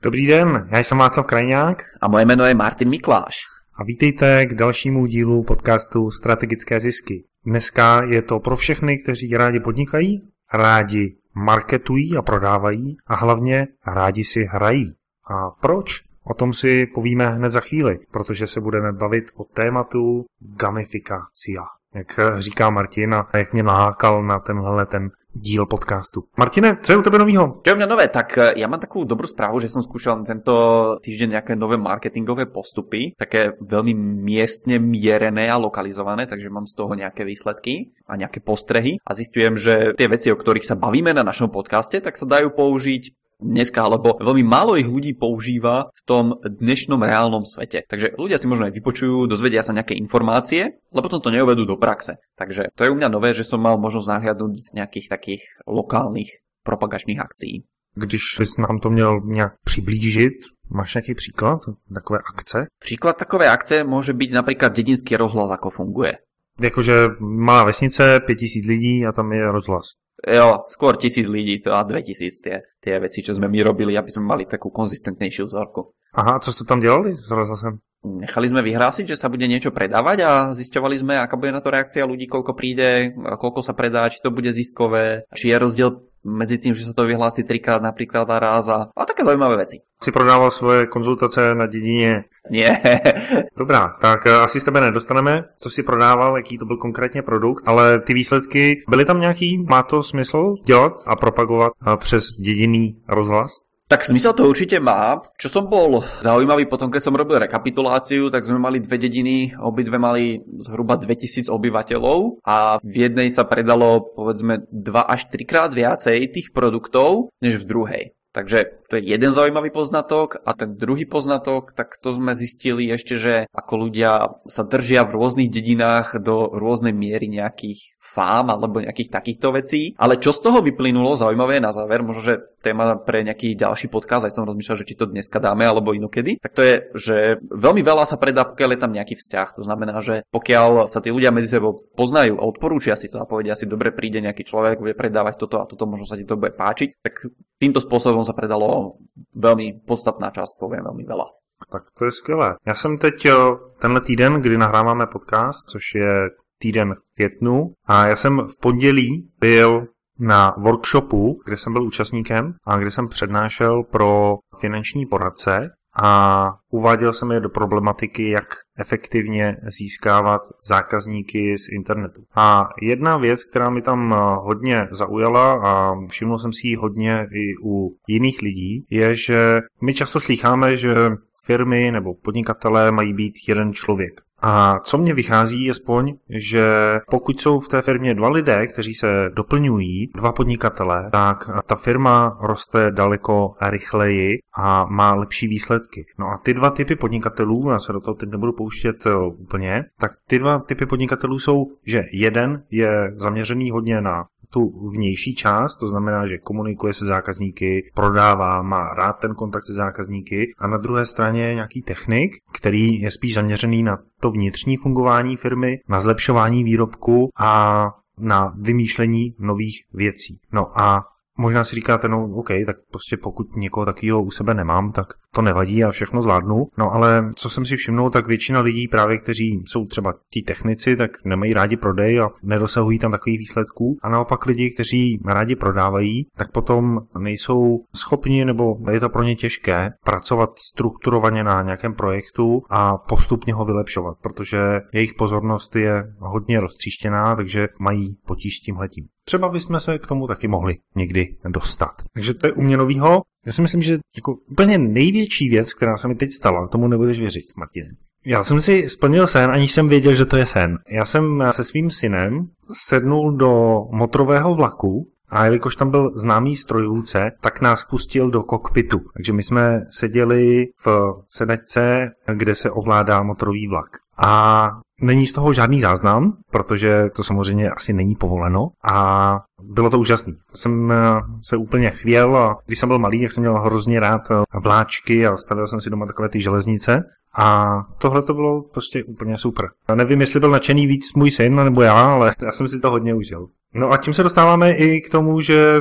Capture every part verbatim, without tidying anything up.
Dobrý den, já jsem Václav Krajňák. A moje jméno je Martin Mikláš. A vítejte k dalšímu dílu podcastu Strategické zisky. Dneska je to pro všechny, kteří rádi podnikají, rádi marketují a prodávají a hlavně rádi si hrají. A proč? O tom si povíme hned za chvíli, protože se budeme bavit o tématu gamifikacia. Jak říká Martin a jak mě nahákal na tenhle ten díl podcastu. Martine, co je u tebe novýho? Čo je u mňa nové? Tak ja mám takú dobrú správu, že som skúšal tento týždeň nejaké nové marketingové postupy, také veľmi miestne mierené a lokalizované, takže mám z toho nejaké výsledky a nejaké postrehy a zistujem, že tie veci, o ktorých sa bavíme na našom podcaste, tak sa dajú použiť dneska, alebo veľmi málo ich ľudí používa v tom dnešnom reálnom svete. Takže ľudia si možno aj vypočujú, dozvedia sa nejaké informácie, ale potom to neuvedú do praxe. Takže to je u mňa nové, že som mal možnosť nahliadnúť z nejakých takých lokálnych propagačných akcií. Když bys nám to měl nějak přiblížit, máš nějaký příklad takové akce? Příklad takové akce môže byť napríklad dedinský rozhlas, ako funguje. Jakože malá vesnice, pět tisíc lidí a tam je rozhlas. Jo, skôr tisíc lidí to a dve tisíc tie, tie veci, čo sme my robili, aby sme mali takú konzistentnejšiu vzorku. Aha, co ste tam delali s rozhlasem? Nechali sme vyhlásiť, že sa bude niečo predávať a zisťovali sme, aká bude na to reakcia ľudí, koľko príde, koľko sa predá, či to bude ziskové, či je rozdiel medzi tým, že sa to vyhlási trikrát napríklad a raz a, a také zaujímavé veci. Si prodával svoje konzultace na dedině? Nie. Dobrá, tak asi z tebe nedostaneme, co si prodával, jaký to byl konkrétně produkt, ale ty výsledky, byly tam nějaký, má to smysl dělat a propagovat přes dedinný rozhlas? Tak smysel to určite má. Čo som bol zaujímavý potom, keď som robil rekapituláciu, tak sme mali dve dediny, obidve mali zhruba dvetisíc obyvateľov a v jednej sa predalo povedzme dva až tri krát viacej tých produktov, než v druhej. Takže to je jeden zaujímavý poznatok a ten druhý poznatok, tak to sme zistili ešte, že ako ľudia sa držia v rôznych dedinách do rôznej miery nejakých fám alebo nejakých takýchto vecí. Ale čo z toho vyplynulo, zaujímavé na záver, možno, že téma pre nejaký ďalší podcast, aj som rozmýšľal, že či to dneska dáme alebo inokedy, tak to je, že veľmi veľa sa predá, pokiaľ je tam nejaký vzťah. To znamená, že pokiaľ sa tí ľudia medzi sebou poznajú a odporúčia si to a povedia si, dobre, príde nejaký človek, bude predávať toto a toto, možno sa ti to bude páčiť, tak týmto spôsobom sa predalo veľmi podstatná časť, poviem veľmi veľa. Tak to je skvělé. Já jsem teď tenhle týden, kdy nahráváme podcast, což je týden v květnu, a já jsem v pondělí byl na workshopu, kde jsem byl účastníkem a kde jsem přednášel pro finanční poradce a uváděl jsem je do problematiky, jak efektivně získávat zákazníky z internetu. A jedna věc, která mi tam hodně zaujala a všiml jsem si ji hodně i u jiných lidí, je, že my často slýcháme, že firmy nebo podnikatelé mají být jeden člověk. A co mně vychází aspoň, že pokud jsou v té firmě dva lidé, kteří se doplňují, dva podnikatelé, tak ta firma roste daleko rychleji a má lepší výsledky. No a ty dva typy podnikatelů, já se do toho teď nebudu pouštět úplně, tak ty dva typy podnikatelů jsou, že jeden je zaměřený hodně na tu vnější část, to znamená, že komunikuje se zákazníky, prodává, má rád ten kontakt se zákazníky, a na druhé straně je nějaký technik, který je spíš zaměřený na to vnitřní fungování firmy, na zlepšování výrobku a na vymýšlení nových věcí. No a možná si říkáte, no OK, tak prostě pokud někoho takového u sebe nemám, tak to nevadí a všechno zvládnu. No ale co jsem si všimnul, tak většina lidí právě, kteří jsou třeba tí technici, tak nemají rádi prodej a nedosahují tam takových výsledků. A naopak lidi, kteří rádi prodávají, tak potom nejsou schopni, nebo je to pro ně těžké pracovat strukturovaně na nějakém projektu a postupně ho vylepšovat, protože jejich pozornost je hodně roztříštěná, takže mají potíž s tímhletím. Třeba bychom se k tomu taky mohli někdy dostat. Takže to je u mě novýho. Já si myslím, že jako úplně největší věc, která se mi teď stala, tomu nebudeš věřit, Martine. Já jsem si splnil sen, aniž jsem věděl, že to je sen. Já jsem se svým synem sednul do motorového vlaku a jelikož tam byl známý strojvůdce, tak nás pustil do kokpitu. Takže my jsme seděli v sedačce, kde se ovládá motorový vlak. A není z toho žádný záznam, protože to samozřejmě asi není povoleno, a bylo to úžasné. Jsem se úplně chvěl a když jsem byl malý, tak jsem měl hrozně rád vláčky a stavil jsem si doma takové ty železnice. A tohle to bylo prostě úplně super. Já nevím, jestli byl nadšený víc můj syn nebo já, ale já jsem si to hodně užil. No a tím se dostáváme i k tomu, že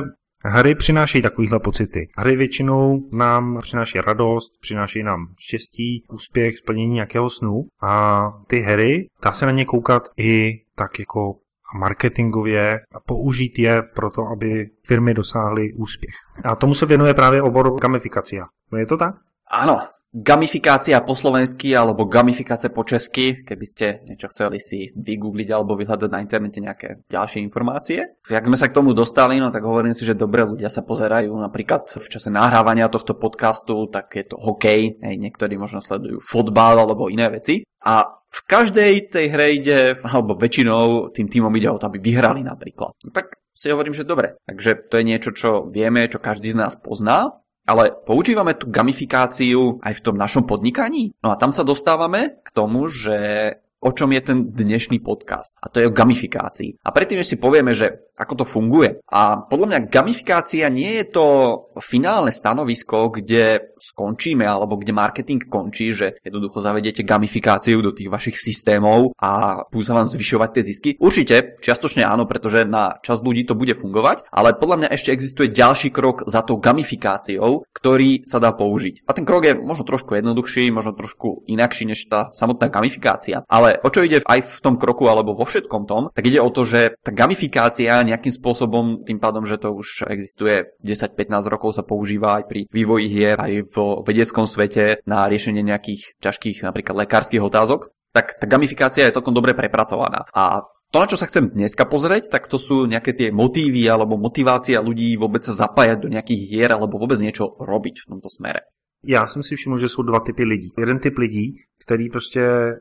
Hry přinášejí takovýhle pocity. Hry většinou nám přináší radost, přináší nám štěstí, úspěch, splnění nějakého snu a ty hry, dá se na ně koukat i tak jako marketingově a použít je pro to, aby firmy dosáhly úspěch. A tomu se věnuje právě obor gamifikacia. Je to tak? Áno. Gamifikácia po slovensky alebo gamifikácia po česky, keby ste niečo chceli si vygoogliť alebo vyhľadať na internete nejaké ďalšie informácie. Jak sme sa k tomu dostali, no tak hovorím si, že dobre, ľudia sa pozerajú napríklad v čase nahrávania tohto podcastu, tak je to hokej, hej, niektorí možno sledujú fotbal alebo iné veci. A v každej tej hre ide, alebo väčšinou tým týmom ide o to, aby vyhrali napríklad. No tak si hovorím, že dobre. Takže to je niečo, čo vieme, čo každý z nás pozná. Ale používame tú gamifikáciu aj v tom našom podnikaní? No a tam sa dostávame k tomu, že o čom je ten dnešný podcast. A to je o gamifikácii. A predtým, než si povieme, že ako to funguje. A podľa mňa gamifikácia nie je to finálne stanovisko, kde skončíme, alebo kde marketing končí, že jednoducho zavediete gamifikáciu do tých vašich systémov a budú sa vám zvyšovať tie zisky. Určite, čiastočne áno, pretože na časť ľudí to bude fungovať, ale podľa mňa ešte existuje ďalší krok za tou gamifikáciou, ktorý sa dá použiť. A ten krok je možno trošku jednoduchší, možno trošku inakší než tá samotná gamifikácia. Ale o čo ide aj v tom kroku, alebo vo všetkom tom, tak ide o to, že tá gamifikácia nejakým spôsobom, tým pádom, že to už existuje desať pätnásť rokov, sa používa aj pri vývoji hier, aj vo vedeckom svete na riešenie nejakých ťažkých napríklad lekárskych otázok, tak tá gamifikácia je celkom dobre prepracovaná. A to, na čo sa chcem dneska pozrieť, tak to sú nejaké tie motívy alebo motivácia ľudí vôbec sa zapájať do nejakých hier alebo vôbec niečo robiť v tomto smere. Já jsem si všiml, že jsou dva typy lidí. Jeden typ lidí, který prostě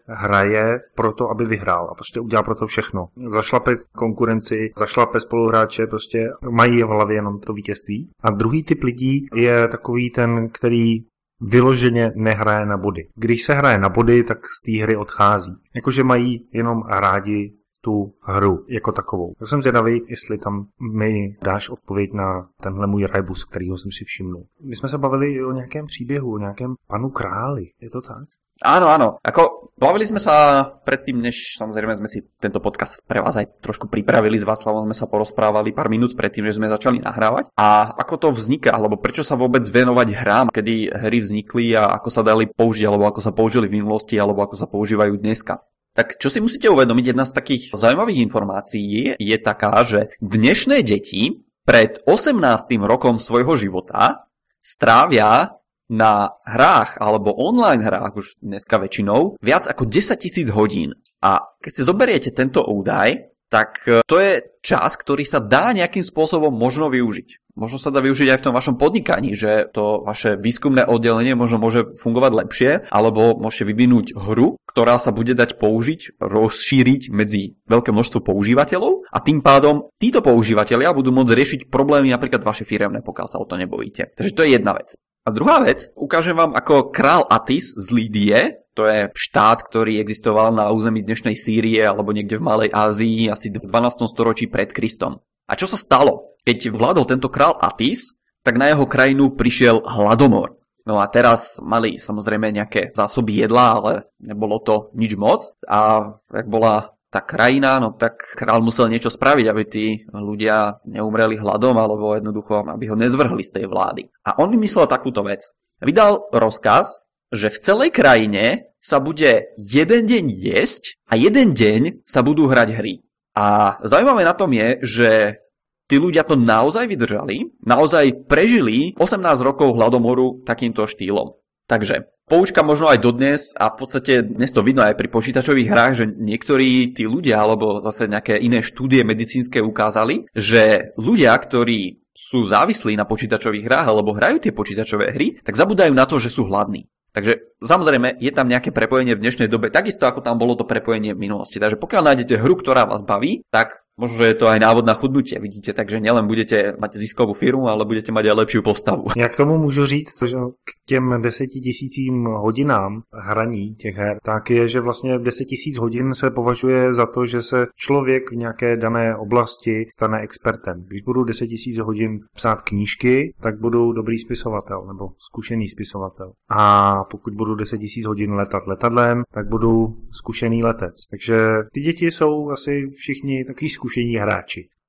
hraje proto, aby vyhrál a prostě udělá pro to všechno. Zašlape konkurenci, zašlape spoluhráče, prostě mají v hlavě jenom to vítězství. A druhý typ lidí je takový ten, který vyloženě nehraje na body. Když se hraje na body, tak z té hry odchází. Jakože mají jenom rádi tu hru jako takovou. Tak jsem zvědavý, jestli tam mi dáš odpověď na tenhle můj rebus, kterýho jsem si všimnul. My jsme se bavili o nějakém příběhu, o nějakém panu králi. Je to tak? Áno, áno. Ako, bavili sme sa predtým, než samozrejme sme si tento podcast pre vás aj trošku pripravili s Václavom, sme sa porozprávali pár minút predtým, než sme začali nahrávať. A ako to vzniká, alebo prečo sa vôbec venovať hrám, kedy hry vznikli a ako sa dali použiť, alebo ako sa použili v minulosti, alebo ako sa používajú dneska. Tak čo si musíte uvedomiť, jedna z takých zaujímavých informácií je taká, že dnešné deti pred osemnástym rokom svojho života strávia na hrách alebo online hrách už dneska väčšinou viac ako desaťtisíc hodín. A keď si zoberiete tento údaj, tak to je čas, ktorý sa dá nejakým spôsobom možno využiť. Možno sa dá využiť aj v tom vašom podnikaní, že to vaše výskumné oddelenie možno môže fungovať lepšie, alebo môžete vyvinúť hru, ktorá sa bude dať použiť, rozšíriť medzi veľké množstvo používateľov a tým pádom títo používateľia budú môcť riešiť problémy napríklad vaše firemné, pokiaľ sa o to nebojíte. Takže to je jedna vec. A druhá vec, ukážem vám, ako král Atis z Lídie, to je štát, ktorý existoval na území dnešnej Sýrie alebo niekde v Malej Ázii asi v dvanástom storočí pred Kristom. A čo sa stalo? Keď vládol tento král Atis, tak na jeho krajinu prišiel hladomor. No a teraz mali samozrejme nejaké zásoby jedla, ale nebolo to nič moc. A ak bola tá krajina, no tak král musel niečo spraviť, aby tí ľudia neumreli hladom alebo jednoducho, aby ho nezvrhli z tej vlády. A on vymyslel takúto vec. Vydal rozkaz, že v celej krajine sa bude jeden deň jesť a jeden deň sa budú hrať hry. A zaujímavé na tom je, že tí ľudia to naozaj vydržali, naozaj prežili osemnásť rokov hladomoru takýmto štýlom. Takže poučka možno aj dodnes a v podstate dnes to vidno aj pri počítačových hrách, že niektorí tí ľudia alebo zase nejaké iné štúdie medicínske ukázali, že ľudia, ktorí sú závislí na počítačových hrách alebo hrajú tie počítačové hry, tak zabúdajú na to, že sú hladní. Takže samozrejme je tam nejaké prepojenie v dnešnej dobe, takisto ako tam bolo to prepojenie v minulosti. Takže pokiaľ nájdete hru, ktorá vás baví, tak možno, že je to aj návod na chudnutie, vidíte, takže nielen budete mať ziskovú firmu, ale budete mať aj lepšiu postavu. Já k tomu můžu říct, že k těm desetitisícím hodinám hraní těch her, tak je, že vlastně deset tisíc hodin se považuje za to, že se člověk v nějaké dané oblasti stane expertem. Když budu deset tisíc hodin psát knížky, tak budu dobrý spisovatel nebo zkušený spisovatel. A pokud budu deset tisíc hodin letat letadlem, tak budu zkušený letec. Takže ty děti jsou asi všichni takový zkušení hráči.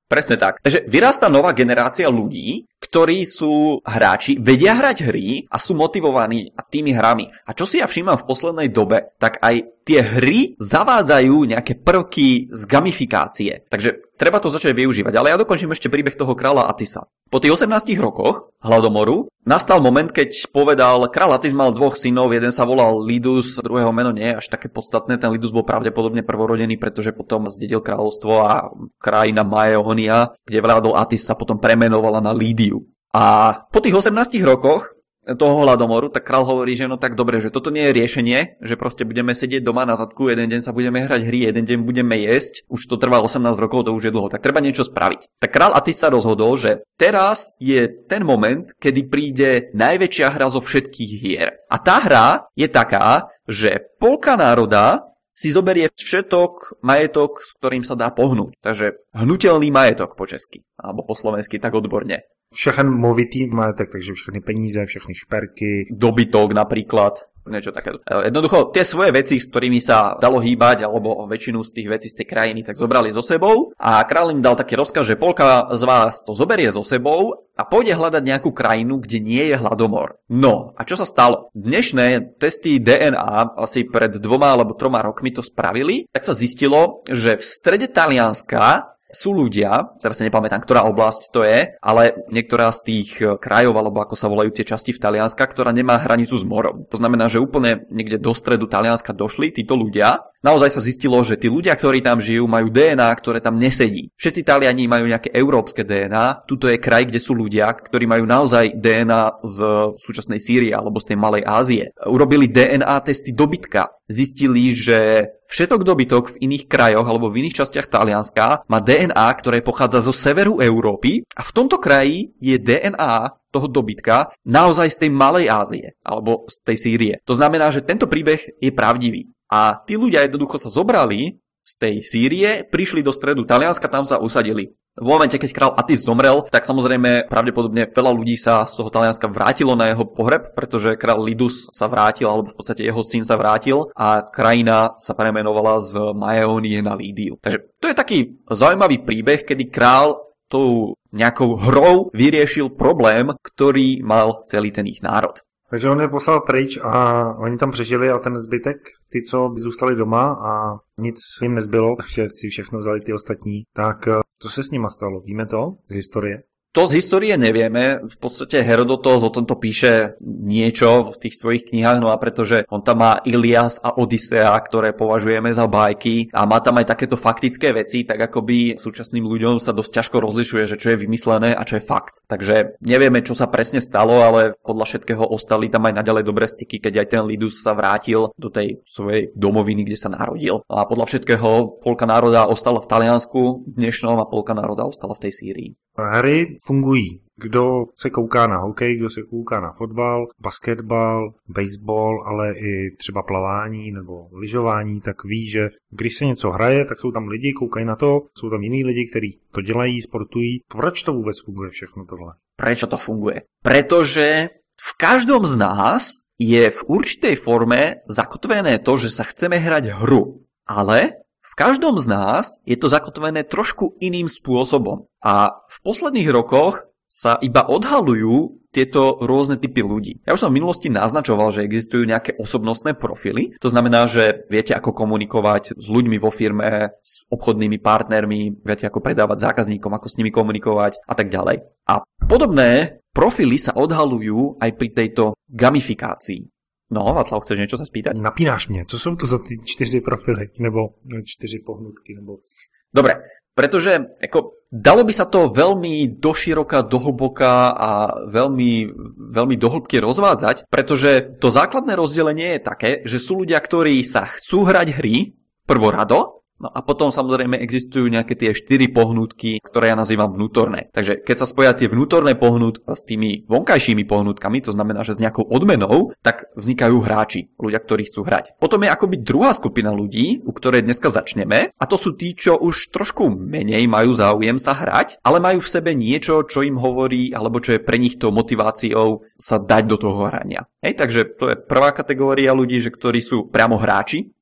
Presne tak. Takže vyrastá nová generácia ľudí, ktorí sú hráči, vedia hrať hry a sú motivovaní tými hrami. A čo si ja všímam v poslednej dobe, tak aj tie hry zavádzajú nejaké prvky z gamifikácie. Takže treba to začať využívať. Ale ja dokončím ešte príbeh toho kráľa Atisa. Po tých osemnástich rokoch hladomoru nastal moment, keď povedal, kráľ Atis mal dvoch synov, jeden sa volal Lidus, druhého meno nie je až také podstatné. Ten Lidus bol pravdepodobne prvorodený, pretože potom zdedil kráľovstvo a krajina Maeonia, kde vládol Atis, sa potom premenovala na Lídiu. A po tých osemnástich rokoch toho hladomoru, tak král hovorí, že no tak dobre, že toto nie je riešenie, že proste budeme sedieť doma na zadku, jeden deň sa budeme hrať hry, jeden deň budeme jesť, už to trvá osemnásť rokov, to už je dlho, tak treba niečo spraviť. Tak král Atis sa rozhodol, že teraz je ten moment, kedy príde najväčšia hra zo všetkých hier. A tá hra je taká, že polka národa si zoberie všetok majetok, s ktorým sa dá pohnúť. Takže hnutelný majetok po česky, alebo po slovensky tak odborne. Všechen movitý majetek, takže všechny peníze, všechny šperky. Dobytok napríklad, niečo také. Jednoducho, tie svoje veci, s ktorými sa dalo hýbať, alebo väčšinu z tých vecí z tej krajiny, tak zobrali so sebou. A kráľ im dal taký rozkaz, že polka z vás to zoberie so sebou a pôjde hľadať nejakú krajinu, kde nie je hladomor. No, a čo sa stalo? Dnešné testy dé en á asi pred dvoma alebo troma rokmi to spravili, tak sa zistilo, že v strede Talianska sú ľudia, teraz si nepamätám, ktorá oblasť to je, ale niektorá z tých krajov, alebo ako sa volajú tie časti v Talianska, ktorá nemá hranicu s morom. To znamená, že úplne niekde do stredu Talianska došli títo ľudia. Naozaj sa zistilo, že tí ľudia, ktorí tam žijú, majú dé en á, ktoré tam nesedí. Všetci Taliani majú nejaké európske dé en á. Tuto je kraj, kde sú ľudia, ktorí majú naozaj dé en á z súčasnej Sýrie alebo z tej Malej Ázie. Urobili dé en á testy dobytka. Zistili, že všetok dobytok v iných krajoch alebo v iných častiach Talianska má dé en á, ktoré pochádza zo severu Európy a v tomto kraji je dé en á toho dobytka naozaj z tej Malej Ázie alebo z tej Sýrie. To znamená, že tento príbeh je pravdivý. A tí ľudia jednoducho sa zobrali z tej Sýrie, prišli do stredu Talianska, tam sa usadili. V momente, keď král Atis zomrel, tak samozrejme pravdepodobne veľa ľudí sa z toho Talianska vrátilo na jeho pohreb, pretože král Lidus sa vrátil, alebo v podstate jeho syn sa vrátil a krajina sa premenovala z Maeonie na Lídiu. Takže to je taký zaujímavý príbeh, kedy král tou nejakou hrou vyriešil problém, ktorý mal celý ten ich národ. Takže on je poslal pryč a oni tam přežili a ten zbytek, ty, co zůstali doma a nic jim nezbylo, takže si všechno vzali ty ostatní, tak co se s nima stalo? Víme to z historie? To z histórie nevieme, v podstate Herodotos o tomto píše niečo v tých svojich knihách, no a pretože on tam má Ilias a Odysea, ktoré považujeme za bajky a má tam aj takéto faktické veci, tak akoby súčasným ľuďom sa dosť ťažko rozlišuje, že čo je vymyslené a čo je fakt. Takže nevieme, čo sa presne stalo, ale podľa všetkého ostali tam aj naďalej dobré styky, keď aj ten Lidus sa vrátil do tej svojej domoviny, kde sa narodil. A podľa všetkého polka národa ostala v Taliansku dnešnom a polka národa ostala v tej Sýrii. Hry fungují. Kdo se kouká na hokej, kdo se kouká na fotbal, basketbal, baseball, ale i třeba plavání nebo lyžování, tak ví, že když se něco hraje, tak jsou tam lidi, koukají na to, jsou tam jiní lidi, kteří to dělají, sportují. Proč to vůbec funguje všechno tohle? Prečo to funguje? Pretože v každom z nás je v určitej forme zakotvené to, že sa chceme hrať hru. Ale v každom z nás je to zakotvené trošku iným spôsobom. A v posledných rokoch sa iba odhalujú tieto rôzne typy ľudí. Ja už som v minulosti naznačoval, že existujú nejaké osobnostné profily. To znamená, že viete, ako komunikovať s ľuďmi vo firme, s obchodnými partnermi, viete, ako predávať zákazníkom, ako s nimi komunikovať a tak ďalej. A podobné profily sa odhalujú aj pri tejto gamifikácii. No, Václav, chceš niečo sa spýtať? Napínáš mě, co sú to za ty čtyři profily, nebo čtyři pohnutky, nebo... Dobre, pretože ako, dalo by sa to veľmi doširoka, dohlboka a veľmi, veľmi dohlbky rozvádzať, pretože to základné rozdelenie je také, že sú ľudia, ktorí sa chcú hrať hry prvorado, no a potom samozrejme existujú nejaké tie štyri pohnutky, ktoré ja nazývam vnútorné. Takže keď sa spoja tie vnútorné pohnutky s tými vonkajšími pohnutkami, to znamená, že s nejakou odmenou, tak vznikajú hráči, ľudia, ktorí chcú hrať. Potom je akoby druhá skupina ľudí, u ktorej dneska začneme, a to sú tí, čo už trošku menej majú záujem sa hrať, ale majú v sebe niečo, čo im hovorí, alebo čo je pre nich tou motiváciou sa dať do toho hrania. Hej, takže to je prvá kategória ľudí, že ktorí sú priamo hráči.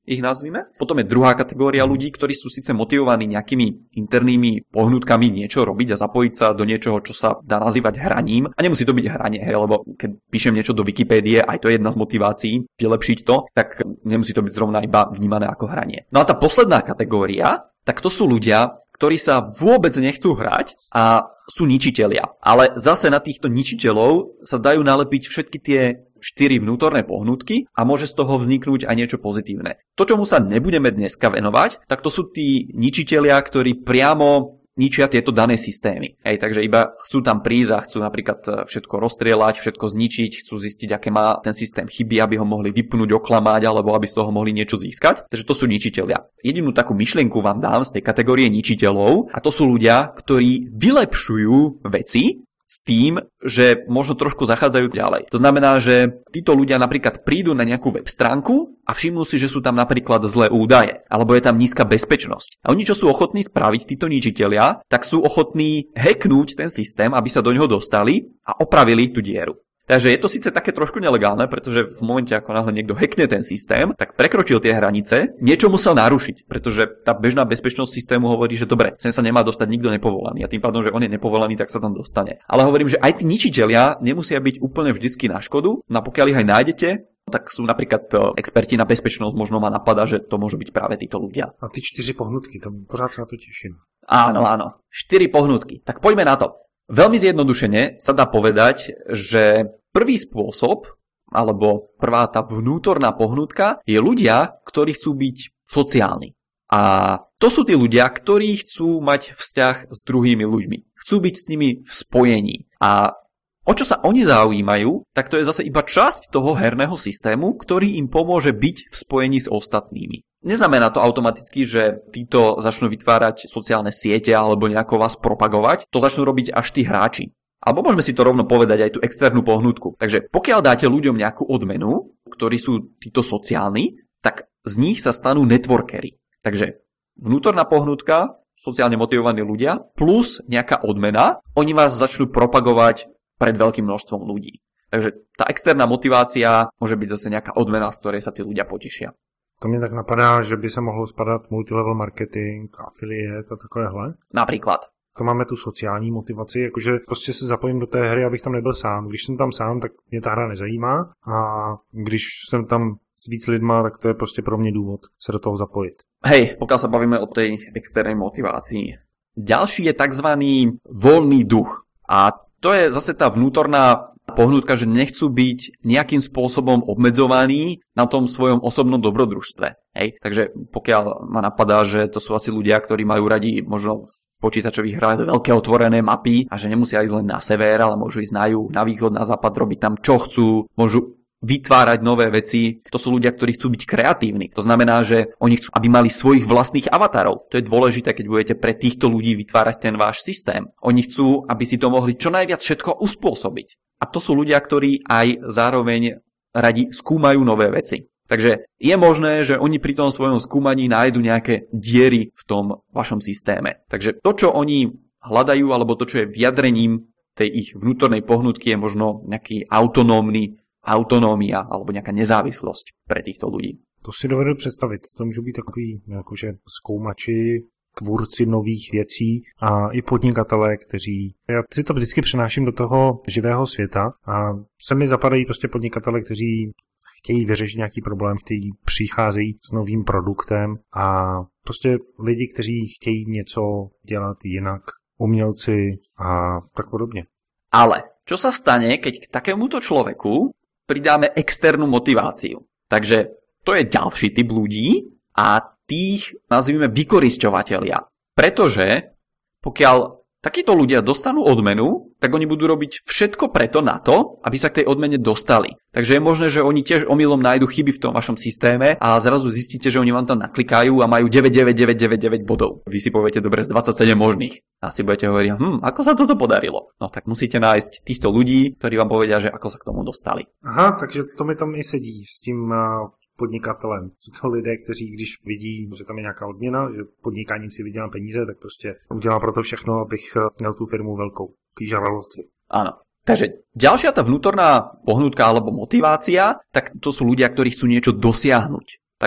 ich nazvime. Potom je druhá kategória ľudí, ktorí sú síce motivovaní nejakými internými pohnutkami niečo robiť a zapojiť sa do niečoho, čo sa dá nazývať hraním. A nemusí to byť hranie, hej, lebo keď píšem niečo do Wikipédie, aj to je jedna z motivácií, vylepšiť to, tak nemusí to byť zrovna iba vnímané ako hranie. No a tá posledná kategória, tak to sú ľudia, ktorí sa vôbec nechcú hrať a sú ničitelia. Ale zase na týchto ničiteľov sa dajú nalepiť všetky tie štyri vnútorné pohnutky a môže z toho vzniknúť aj niečo pozitívne. To, čomu sa nebudeme dneska venovať, tak to sú tí ničitelia, ktorí priamo ničia tieto dané systémy. Hej, takže iba chcú tam prísť a chcú napríklad všetko rozstrieľať, všetko zničiť, chcú zistiť, aké má ten systém chyby, aby ho mohli vypnúť, oklamať, alebo aby z toho mohli niečo získať. Takže to sú ničitelia. Jedinú takú myšlienku vám dám z tej kategórie ničiteľov a to sú ľudia, ktorí vylepšujú veci s tým, že možno trošku zachádzajú ďalej. To znamená, že títo ľudia napríklad prídu na nejakú web stránku a všimnú si, že sú tam napríklad zlé údaje, alebo je tam nízka bezpečnosť. A oni, čo sú ochotní spraviť, títo ničitelia, tak sú ochotní hacknúť ten systém, aby sa do neho dostali a opravili tú dieru. Takže je to síce také trošku nelegálne, pretože v momente, ako náhle niekto hackne ten systém, tak prekročil tie hranice, niečo musel narušiť, pretože tá bežná bezpečnosť systému hovorí, že dobre, sem sa nemá dostať nikto nepovolaný a tým pádom, že on je nepovolaný, tak sa tam dostane. Ale hovorím, že aj tí ničitelia nemusia byť úplne vždycky na škodu, no pokiaľ ich aj nájdete, tak sú napríklad experti na bezpečnosť, možno ma napadá, že to môžu byť práve títo ľudia. A ty čtyři pohnutky, to pořád sa na to teším. Áno, áno. Štyri pohnutky. Tak poďme na to. Veľmi zjednodušene sa dá povedať, že prvý spôsob, alebo prvá tá vnútorná pohnutka je ľudia, ktorí chcú byť sociálni. A to sú tí ľudia, ktorí chcú mať vzťah s druhými ľuďmi. Chcú byť s nimi v spojení. A o čo sa oni zaujímajú, tak to je zase iba časť toho herného systému, ktorý im pomôže byť v spojení s ostatnými. Neznamená to automaticky, že títo začnú vytvárať sociálne siete alebo nejako vás propagovať. To začnú robiť až tí hráči. Alebo môžeme si to rovno povedať aj tú externú pohnutku. Takže pokiaľ dáte ľuďom nejakú odmenu, ktorí sú títo sociálni, tak z nich sa stanú networkery. Takže vnútorná pohnutka, sociálne motivovaní ľudia, plus nejaká odmena, oni vás začnú propagovať pred veľkým množstvom ľudí. Takže tá externá motivácia môže byť zase nejaká odmena, z ktorej sa tí ľudia potešia. To mě tak napadá, že by se mohlo spadat multilevel marketing, affiliate a takovéhle. Například. To máme tu sociální motivaci, jakože prostě se zapojím do té hry, abych tam nebyl sám. Když jsem tam sám, tak mě ta hra nezajímá a když jsem tam s víc lidma, tak to je prostě pro mě důvod se do toho zapojit. Hej, pokiaľ sa bavíme o tej externej motivácii. Ďalší je takzvaný voľný duch. A to je zase tá vnútorná pohnutka, že nechcú byť nejakým spôsobom obmedzovaní na tom svojom osobnom dobrodružstve. Hej? Takže pokiaľ ma napadá, že to sú asi ľudia, ktorí majú radi možno počítačových hrách veľké otvorené mapy a že nemusia ísť len na sever, ale môžu ísť na juh, na východ, na západ, robiť tam čo chcú, môžu vytvárať nové veci. To sú ľudia, ktorí chcú byť kreatívni. To znamená, že oni chcú, aby mali svojich vlastných avatarov. To je dôležité, keď budete pre týchto ľudí vytvárať ten váš systém. Oni chcú, aby si to mohli čo najviac všetko uspôsobiť. A to sú ľudia, ktorí aj zároveň radi skúmajú nové veci. Takže je možné, že oni pri tom svojom skúmaní nájdu nejaké diery v tom vašom systéme. Takže to, čo oni hľadajú, alebo to, čo je vyjadrením tej ich vnútornej pohnutky, je možno nejaký autonómny autonómia alebo nejaká nezávislosť pre týchto ľudí. To si dovedu představit. To můžou být takový jakože zkoumači, tvůrci nových věcí a i podnikatelé, kteří... Já si to vždycky přenáším do toho živého světa a se mi zapadají prostě podnikatelé, kteří chtějí vyřešit nějaký problém, kteří přicházejí s novým produktem a prostě lidi, kteří chtějí něco dělat jinak, umělci a tak podobně. Ale čo sa stane, keď k takémuto človeku pridáme externú motiváciu? Takže to je ďalší typ ľudí a tých nazvime vykorisťovatelia. Pretože pokiaľ takíto ľudia dostanú odmenu, tak oni budú robiť všetko preto na to, aby sa k tej odmene dostali. Takže je možné, že oni tiež omylom nájdu chyby v tom vašom systéme a zrazu zistíte, že oni vám tam naklikajú a majú deväť deväť deväť deväť deväť bodov. Vy si poviete, dobre, z dvadsaťsedem možných. A si budete hovoriť, hm, ako sa toto podarilo? No tak musíte nájsť týchto ľudí, ktorí vám povedia, že ako sa k tomu dostali. Aha, takže to mi tam i sedí s tím podnikatelem. Jsou to lidé, kteří když vidí, že tam je nějaká odměna, že podnikáním si vydělám peníze, tak prostě udělám pro to všechno, abych měl tu firmu velkou. Kýžarovci. Áno. Takže ďalšia tá vnútorná pohnutka alebo motivácia, tak to sú ľudia, ktorí chcú niečo dosiahnuť. Takže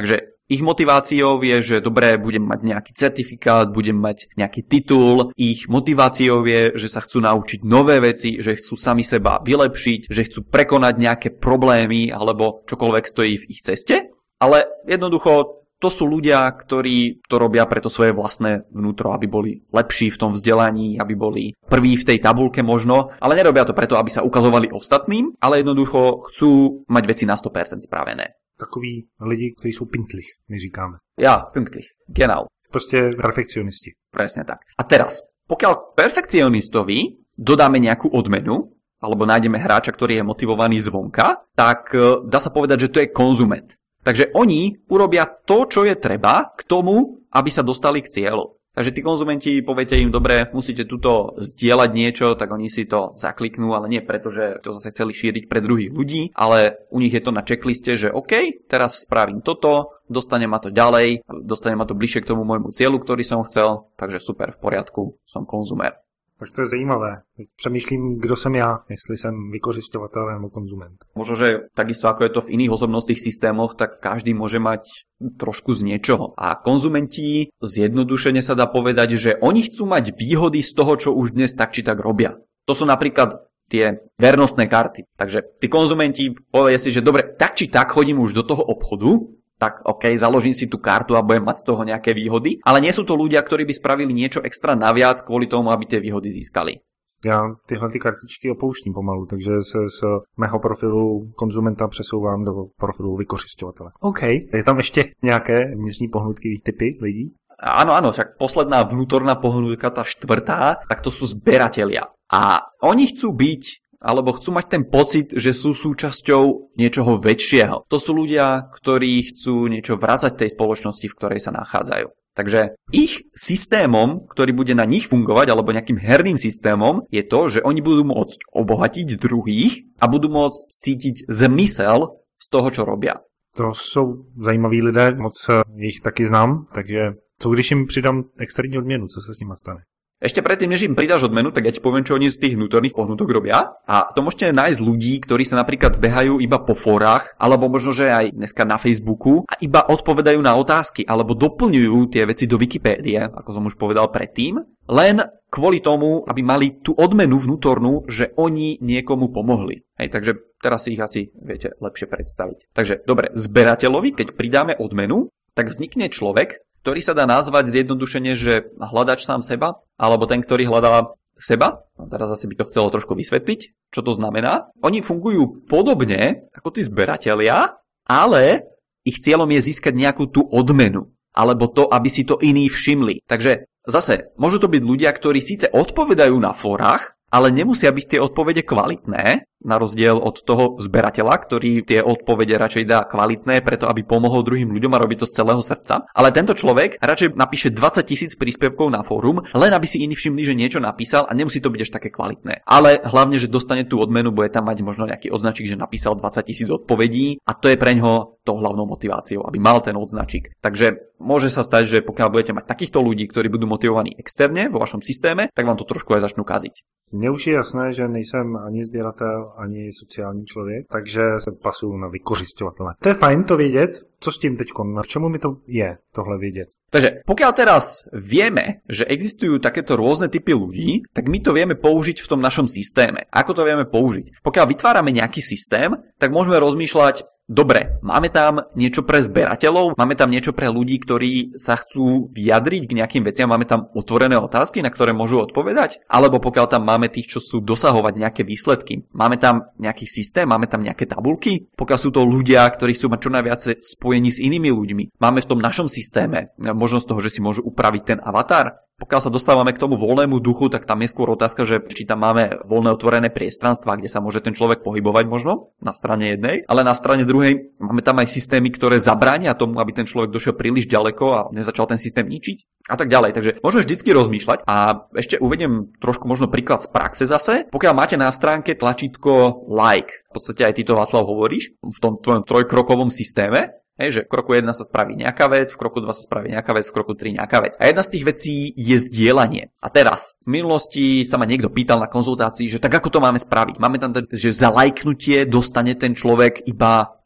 Ich motiváciou je, že dobré, budem mať nejaký certifikát, budem mať nejaký titul. Ich motiváciou je, že sa chcú naučiť nové veci, že chcú sami seba vylepšiť, že chcú prekonať nejaké problémy alebo čokoľvek stojí v ich ceste. Ale jednoducho to sú ľudia, ktorí to robia pre to svoje vlastné vnútro, aby boli lepší v tom vzdelaní, aby boli prví v tej tabuľke možno, ale nerobia to preto, aby sa ukazovali ostatným, ale jednoducho chcú mať veci na sto percent spravené. Takový lidi, kteří jsou pintlich, my říkáme. Ja, pünktlich, genau. Prostě perfekcionisti. Presne tak. A teraz, pokiaľ perfekcionistovi dodáme nejakú odmenu, alebo nájdeme hráča, ktorý je motivovaný zvonka, tak dá sa povedať, že to je konzument. Takže oni urobia to, čo je treba k tomu, aby sa dostali k cieľu. Takže tí konzumenti, poviete im, dobre, musíte tuto zdieľať niečo, tak oni si to zakliknú, ale nie preto, že to zase chceli šíriť pre druhých ľudí, ale u nich je to na checkliste, že OK, teraz spravím toto, dostane ma to ďalej, dostane ma to bližšie k tomu môjmu cieľu, ktorý som chcel, takže super, v poriadku, som konzumer. Tak to je zajímavé. Přemýšlím, kdo jsem já, jestli jsem vykořisťovatel nebo konzument. Možno, že takisto ako je to v iných osobnostných systémoch, tak každý môže mať trošku z niečoho. A konzumenti, zjednodušene sa dá povedať, že oni chcú mať výhody z toho, čo už dnes tak či tak robia. To sú napríklad tie vernostné karty. Takže tí konzumenti povedia si, že dobre, tak či tak chodím už do toho obchodu, tak OK, založím si tú kartu a budem mať z toho nejaké výhody, ale nie sú to ľudia, ktorí by spravili niečo extra naviac kvôli tomu, aby tie výhody získali. Já tyhle ty kartičky opouštím pomalu, takže se z mého profilu konzumenta přesouvám do profilu vykořisťovatele. OK, je tam ještě nějaké vnitřní pohnutky, typy lidí? Áno, áno, však posledná vnútorná pohnutka, tá štvrtá, tak to sú zberatelia. A oni chcú byť alebo chcú mať ten pocit, že sú súčasťou niečoho väčšieho. To sú ľudia, ktorí chcú niečo vrácať tej spoločnosti, v ktorej sa nachádzajú. Takže ich systémom, ktorý bude na nich fungovať, alebo nejakým herným systémom, je to, že oni budú môcť obohatiť druhých a budú môcť cítiť zmysel z toho, čo robia. To jsou zajímaví lidé, moc jich taky znám, takže co když jim přidám externí odměnu, co se s nimi stane? Ešte predtým, než im pridáš odmenu, tak ja ti poviem, čo oni z tých vnútorných pohnutok robia. A to môžete nájsť ľudí, ktorí sa napríklad behajú iba po fórach, alebo možno, že aj dneska na Facebooku a iba odpovedajú na otázky, alebo doplňujú tie veci do Wikipédie, ako som už povedal predtým, len kvôli tomu, aby mali tú odmenu vnútornú, že oni niekomu pomohli. Hej, takže teraz si ich asi viete lepšie predstaviť. Takže dobre, zberateľovi, keď pridáme odmenu, tak vznikne človek, ktorý sa dá nazvať zjednodušene, že hľadač sám seba, alebo ten, ktorý hľadá seba. No teraz asi by to chcelo trošku vysvetliť, čo to znamená. Oni fungujú podobne ako tí zberatelia, ale ich cieľom je získať nejakú tú odmenu, alebo to, aby si to iní všimli. Takže zase, môžu to byť ľudia, ktorí síce odpovedajú na fórach, ale nemusia byť tie odpovede kvalitné, na rozdiel od toho zberateľa, ktorý tie odpovede radšej dá kvalitné, preto aby pomohol druhým ľuďom a robí to z celého srdca. Ale tento človek radšej napíše dvadsať tisíc príspevkov na fórum, len aby si iní všimli, že niečo napísal a nemusí to byť až také kvalitné. Ale hlavne, že dostane tú odmenu, bude tam mať možno nejaký odznačík, že napísal dvadsať tisíc odpovedí a to je preňho tou hlavnou motiváciou, aby mal ten odznačík. Takže môže sa stať, že pokiaľ budete mať takýchto ľudí, ktorí budú motivovaní externe vo vašom systéme, tak vám to trošku aj začnú kaziť. Mně už je jasné, že nejsem ani sběratel, ani sociální člověk, takže se pasuju na vykořisťovatele. To je fajn to vědět. Co s tím teďkon? Na čemu mi to je tohle vědět? Takže pokiaľ teraz vieme, že existujú takéto rôzne typy ľudí, tak my to vieme použiť v tom našom systéme. Ako to vieme použiť? Pokiaľ vytvárame nejaký systém, tak môžeme rozmýšľať, dobre, máme tam niečo pre zberateľov, máme tam niečo pre ľudí, ktorí sa chcú vyjadriť k nejakým veciam, máme tam otvorené otázky, na ktoré môžu odpovedať, alebo pokiaľ tam máme tých, čo sú dosahovať nejaké výsledky, máme tam nejaký systém, máme tam nejaké tabulky, pokiaľ sú to ľudia, ktorí chcú mať čo najviac spojení s inými ľuďmi, máme v tom našom systéme možnosť toho, že si môžu upraviť ten avatar. Pokiaľ sa dostávame k tomu voľnému duchu, tak tam je skôr otázka, že či tam máme voľné otvorené priestranstva, kde sa môže ten človek pohybovať možno na strane jednej, ale na strane druhej máme tam aj systémy, ktoré zabránia tomu, aby ten človek došiel príliš ďaleko a nezačal ten systém ničiť a tak ďalej. Takže môžeme vždycky rozmýšľať a ešte uvediem trošku možno príklad z praxe zase. Pokiaľ máte na stránke tlačítko like, v podstate aj ty to, Václav, hovoríš v tom tvojom trojkrokovom systéme, hej, že v kroku jedna sa spraví nejaká vec, v kroku dva sa spraví nejaká vec, v kroku tri nejaká vec. A jedna z tých vecí je zdieľanie. A teraz, v minulosti sa ma niekto pýtal na konzultácii, že tak ako to máme spraviť? Máme tam, že za lajknutie dostane ten človek iba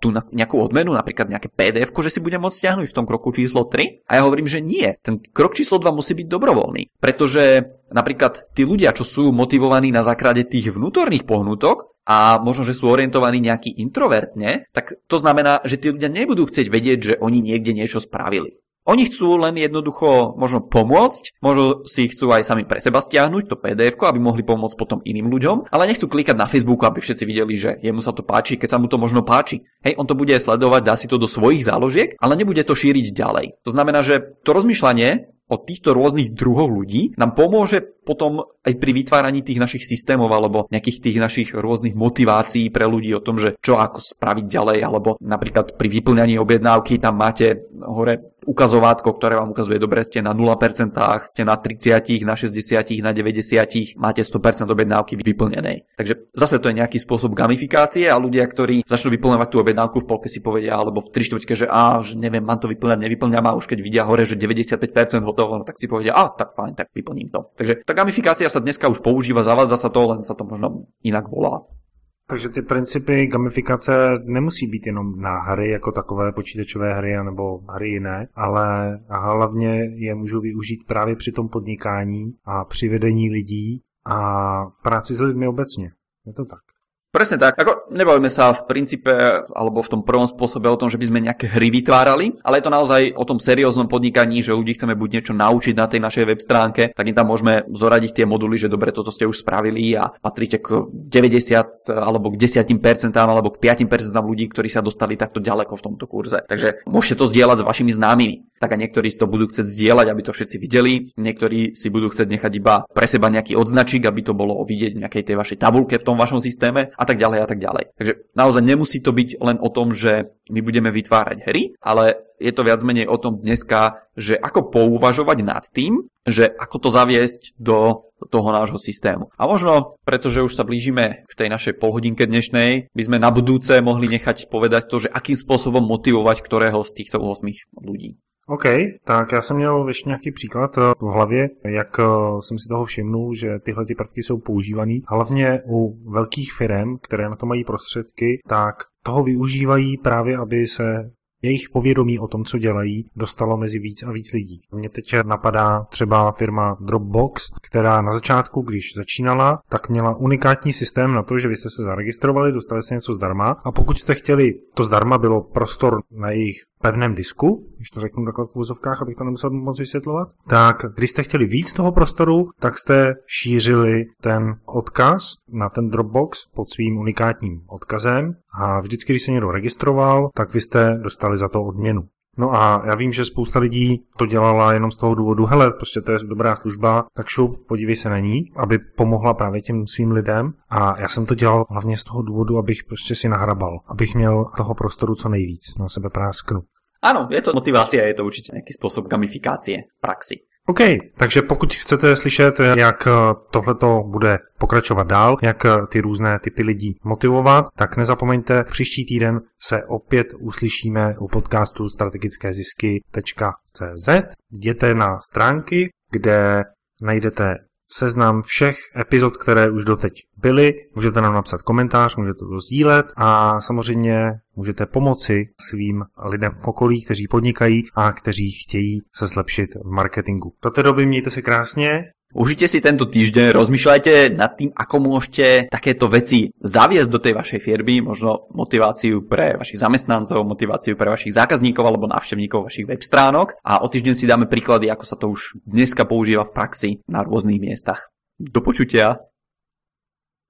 tú nejakú odmenu, napríklad nejaké pé dé efko, že si budem môcť stiahnuť v tom kroku číslo tri? A ja hovorím, že nie. Ten krok číslo dva musí byť dobrovoľný, pretože napríklad tí ľudia, čo sú motivovaní na základe tých vnútorných pohnutok a možno, že sú orientovaní nejaký introvertne, tak to znamená, že tí ľudia nebudú chcieť vedieť, že oni niekde niečo spravili. Oni chcú len jednoducho možno pomôcť, možno si chcú aj sami pre seba stiahnuť to pé dé efko, aby mohli pomôcť potom iným ľuďom, ale nechcú klikať na Facebooku, aby všetci videli, že jemu sa to páči, keď sa mu to možno páči. Hej, on to bude sledovať, dá si to do svojich záložiek, ale nebude to šíriť ďalej. To znamená, že to rozmýšľanie o týchto rôznych druhoch ľudí nám pomôže potom aj pri vytváraní tých našich systémov alebo nejakých tých našich rôznych motivácií pre ľudí o tom, že čo ako spraviť ďalej, alebo napríklad pri vyplňaní objednávky tam máte hore ukazovátko, ktoré vám ukazuje, dobre, ste na nula percent, ste na tridsať, na šesťdesiat, na deväťdesiat, máte sto percent objednávky vyplnenej. Takže zase to je nejaký spôsob gamifikácie a ľudia, ktorí začnú vyplňovať tú objednávku v polke si povedia, alebo v tri štvrťke, že á, že neviem, mám to vyplňať, nevyplňam, a už keď vidia hore, že deväťdesiatpäť percent hotovo, no tak si povedia, á, tak fajn, tak vyplním to. Takže tá gamifikácia sa dneska už používa, zavádza sa to, len sa to možno inak volá. Takže ty principy gamifikace nemusí být jenom na hry jako takové počítačové hry nebo hry jiné, ale hlavně je můžu využít právě při tom podnikání a při vedení lidí a práci s lidmi obecně. Je to tak? Presne tak. Ako nebavíme sa v princípe alebo v tom prvom spôsobe o tom, že by sme nejaké hry vytvárali, ale je to naozaj o tom serióznom podnikaní, že ľudí chceme buď niečo naučiť na tej našej web stránke, tak im tam môžeme zoradiť tie moduly, že dobre, toto ste už spravili a patríte k deväťdesiat alebo k desať percent alebo k päť percent ľudí, ktorí sa dostali takto ďaleko v tomto kurze. Takže môžete to zdieľať s vašimi známymi. Tak a niektorí si to budú chcieť zdieľať, aby to všetci videli, niektorí si budú chcieť nechať iba pre seba nejaký odznačík, aby to bolo vidieť v nejakej tej vašej tabuľke v tom vašom systéme. A tak ďalej a tak ďalej. Takže naozaj nemusí to byť len o tom, že my budeme vytvárať hry, ale je to viac menej o tom dneska, že ako pouvažovať nad tým, že ako to zaviesť do toho nášho systému. A možno, pretože už sa blížime k tej našej polhodinke dnešnej, by sme na budúce mohli nechať povedať to, že akým spôsobom motivovať ktorého z týchto osmých ľudí. OK, tak já jsem měl ještě nějaký příklad v hlavě, jak jsem si toho všimnul, že tyhle ty prvky jsou používaný. Hlavně u velkých firm, které na to mají prostředky, tak toho využívají právě, aby se jejich povědomí o tom, co dělají, dostalo mezi víc a víc lidí. Mně teď napadá třeba firma Dropbox, která na začátku, když začínala, tak měla unikátní systém na to, že vy jste se zaregistrovali, dostali jste něco zdarma a pokud jste chtěli, to zdarma bylo prostor na jejich pevném disku, když to řeknu takhle v úvozovkách, abych to nemusel moc vysvětlovat, tak když jste chtěli víc toho prostoru, tak jste šířili ten odkaz na ten Dropbox pod svým unikátním odkazem a vždycky, když se někdo registroval, tak vy jste dostali za to odměnu. No a já vím, že spousta lidí to dělala jenom z toho důvodu, hele, prostě to je dobrá služba, tak šup, podívej se na ní, aby pomohla právě těm svým lidem. A já jsem to dělal hlavně z toho důvodu, abych prostě si nahrabal, abych měl toho prostoru co nejvíc, na sebe prásknu. Áno, je to motivácia, je to určite nejaký spôsob gamifikácie v praxi. OK, takže pokud chcete slyšet, jak tohleto bude pokračovat dál, jak ty různé typy lidí motivovat, tak nezapomeňte, příští týden se opět uslyšíme u podcastu strategické zisky tečka cé zet. Jděte na stránky, kde najdete seznam všech epizod, které už doteď byly. Můžete nám napsat komentář, můžete to sdílet a samozřejmě můžete pomoci svým lidem v okolí, kteří podnikají a kteří chtějí se zlepšit v marketingu. Do té doby mějte se krásně. Užite si tento týždeň, rozmýšľajte nad tým, ako môžete takéto veci zaviesť do tej vašej firmy, možno motiváciu pre vašich zamestnancov, motiváciu pre vašich zákazníkov alebo návštevníkov vašich web stránok a o týždeň si dáme príklady, ako sa to už dneska používa v praxi na rôznych miestach. Do počutia.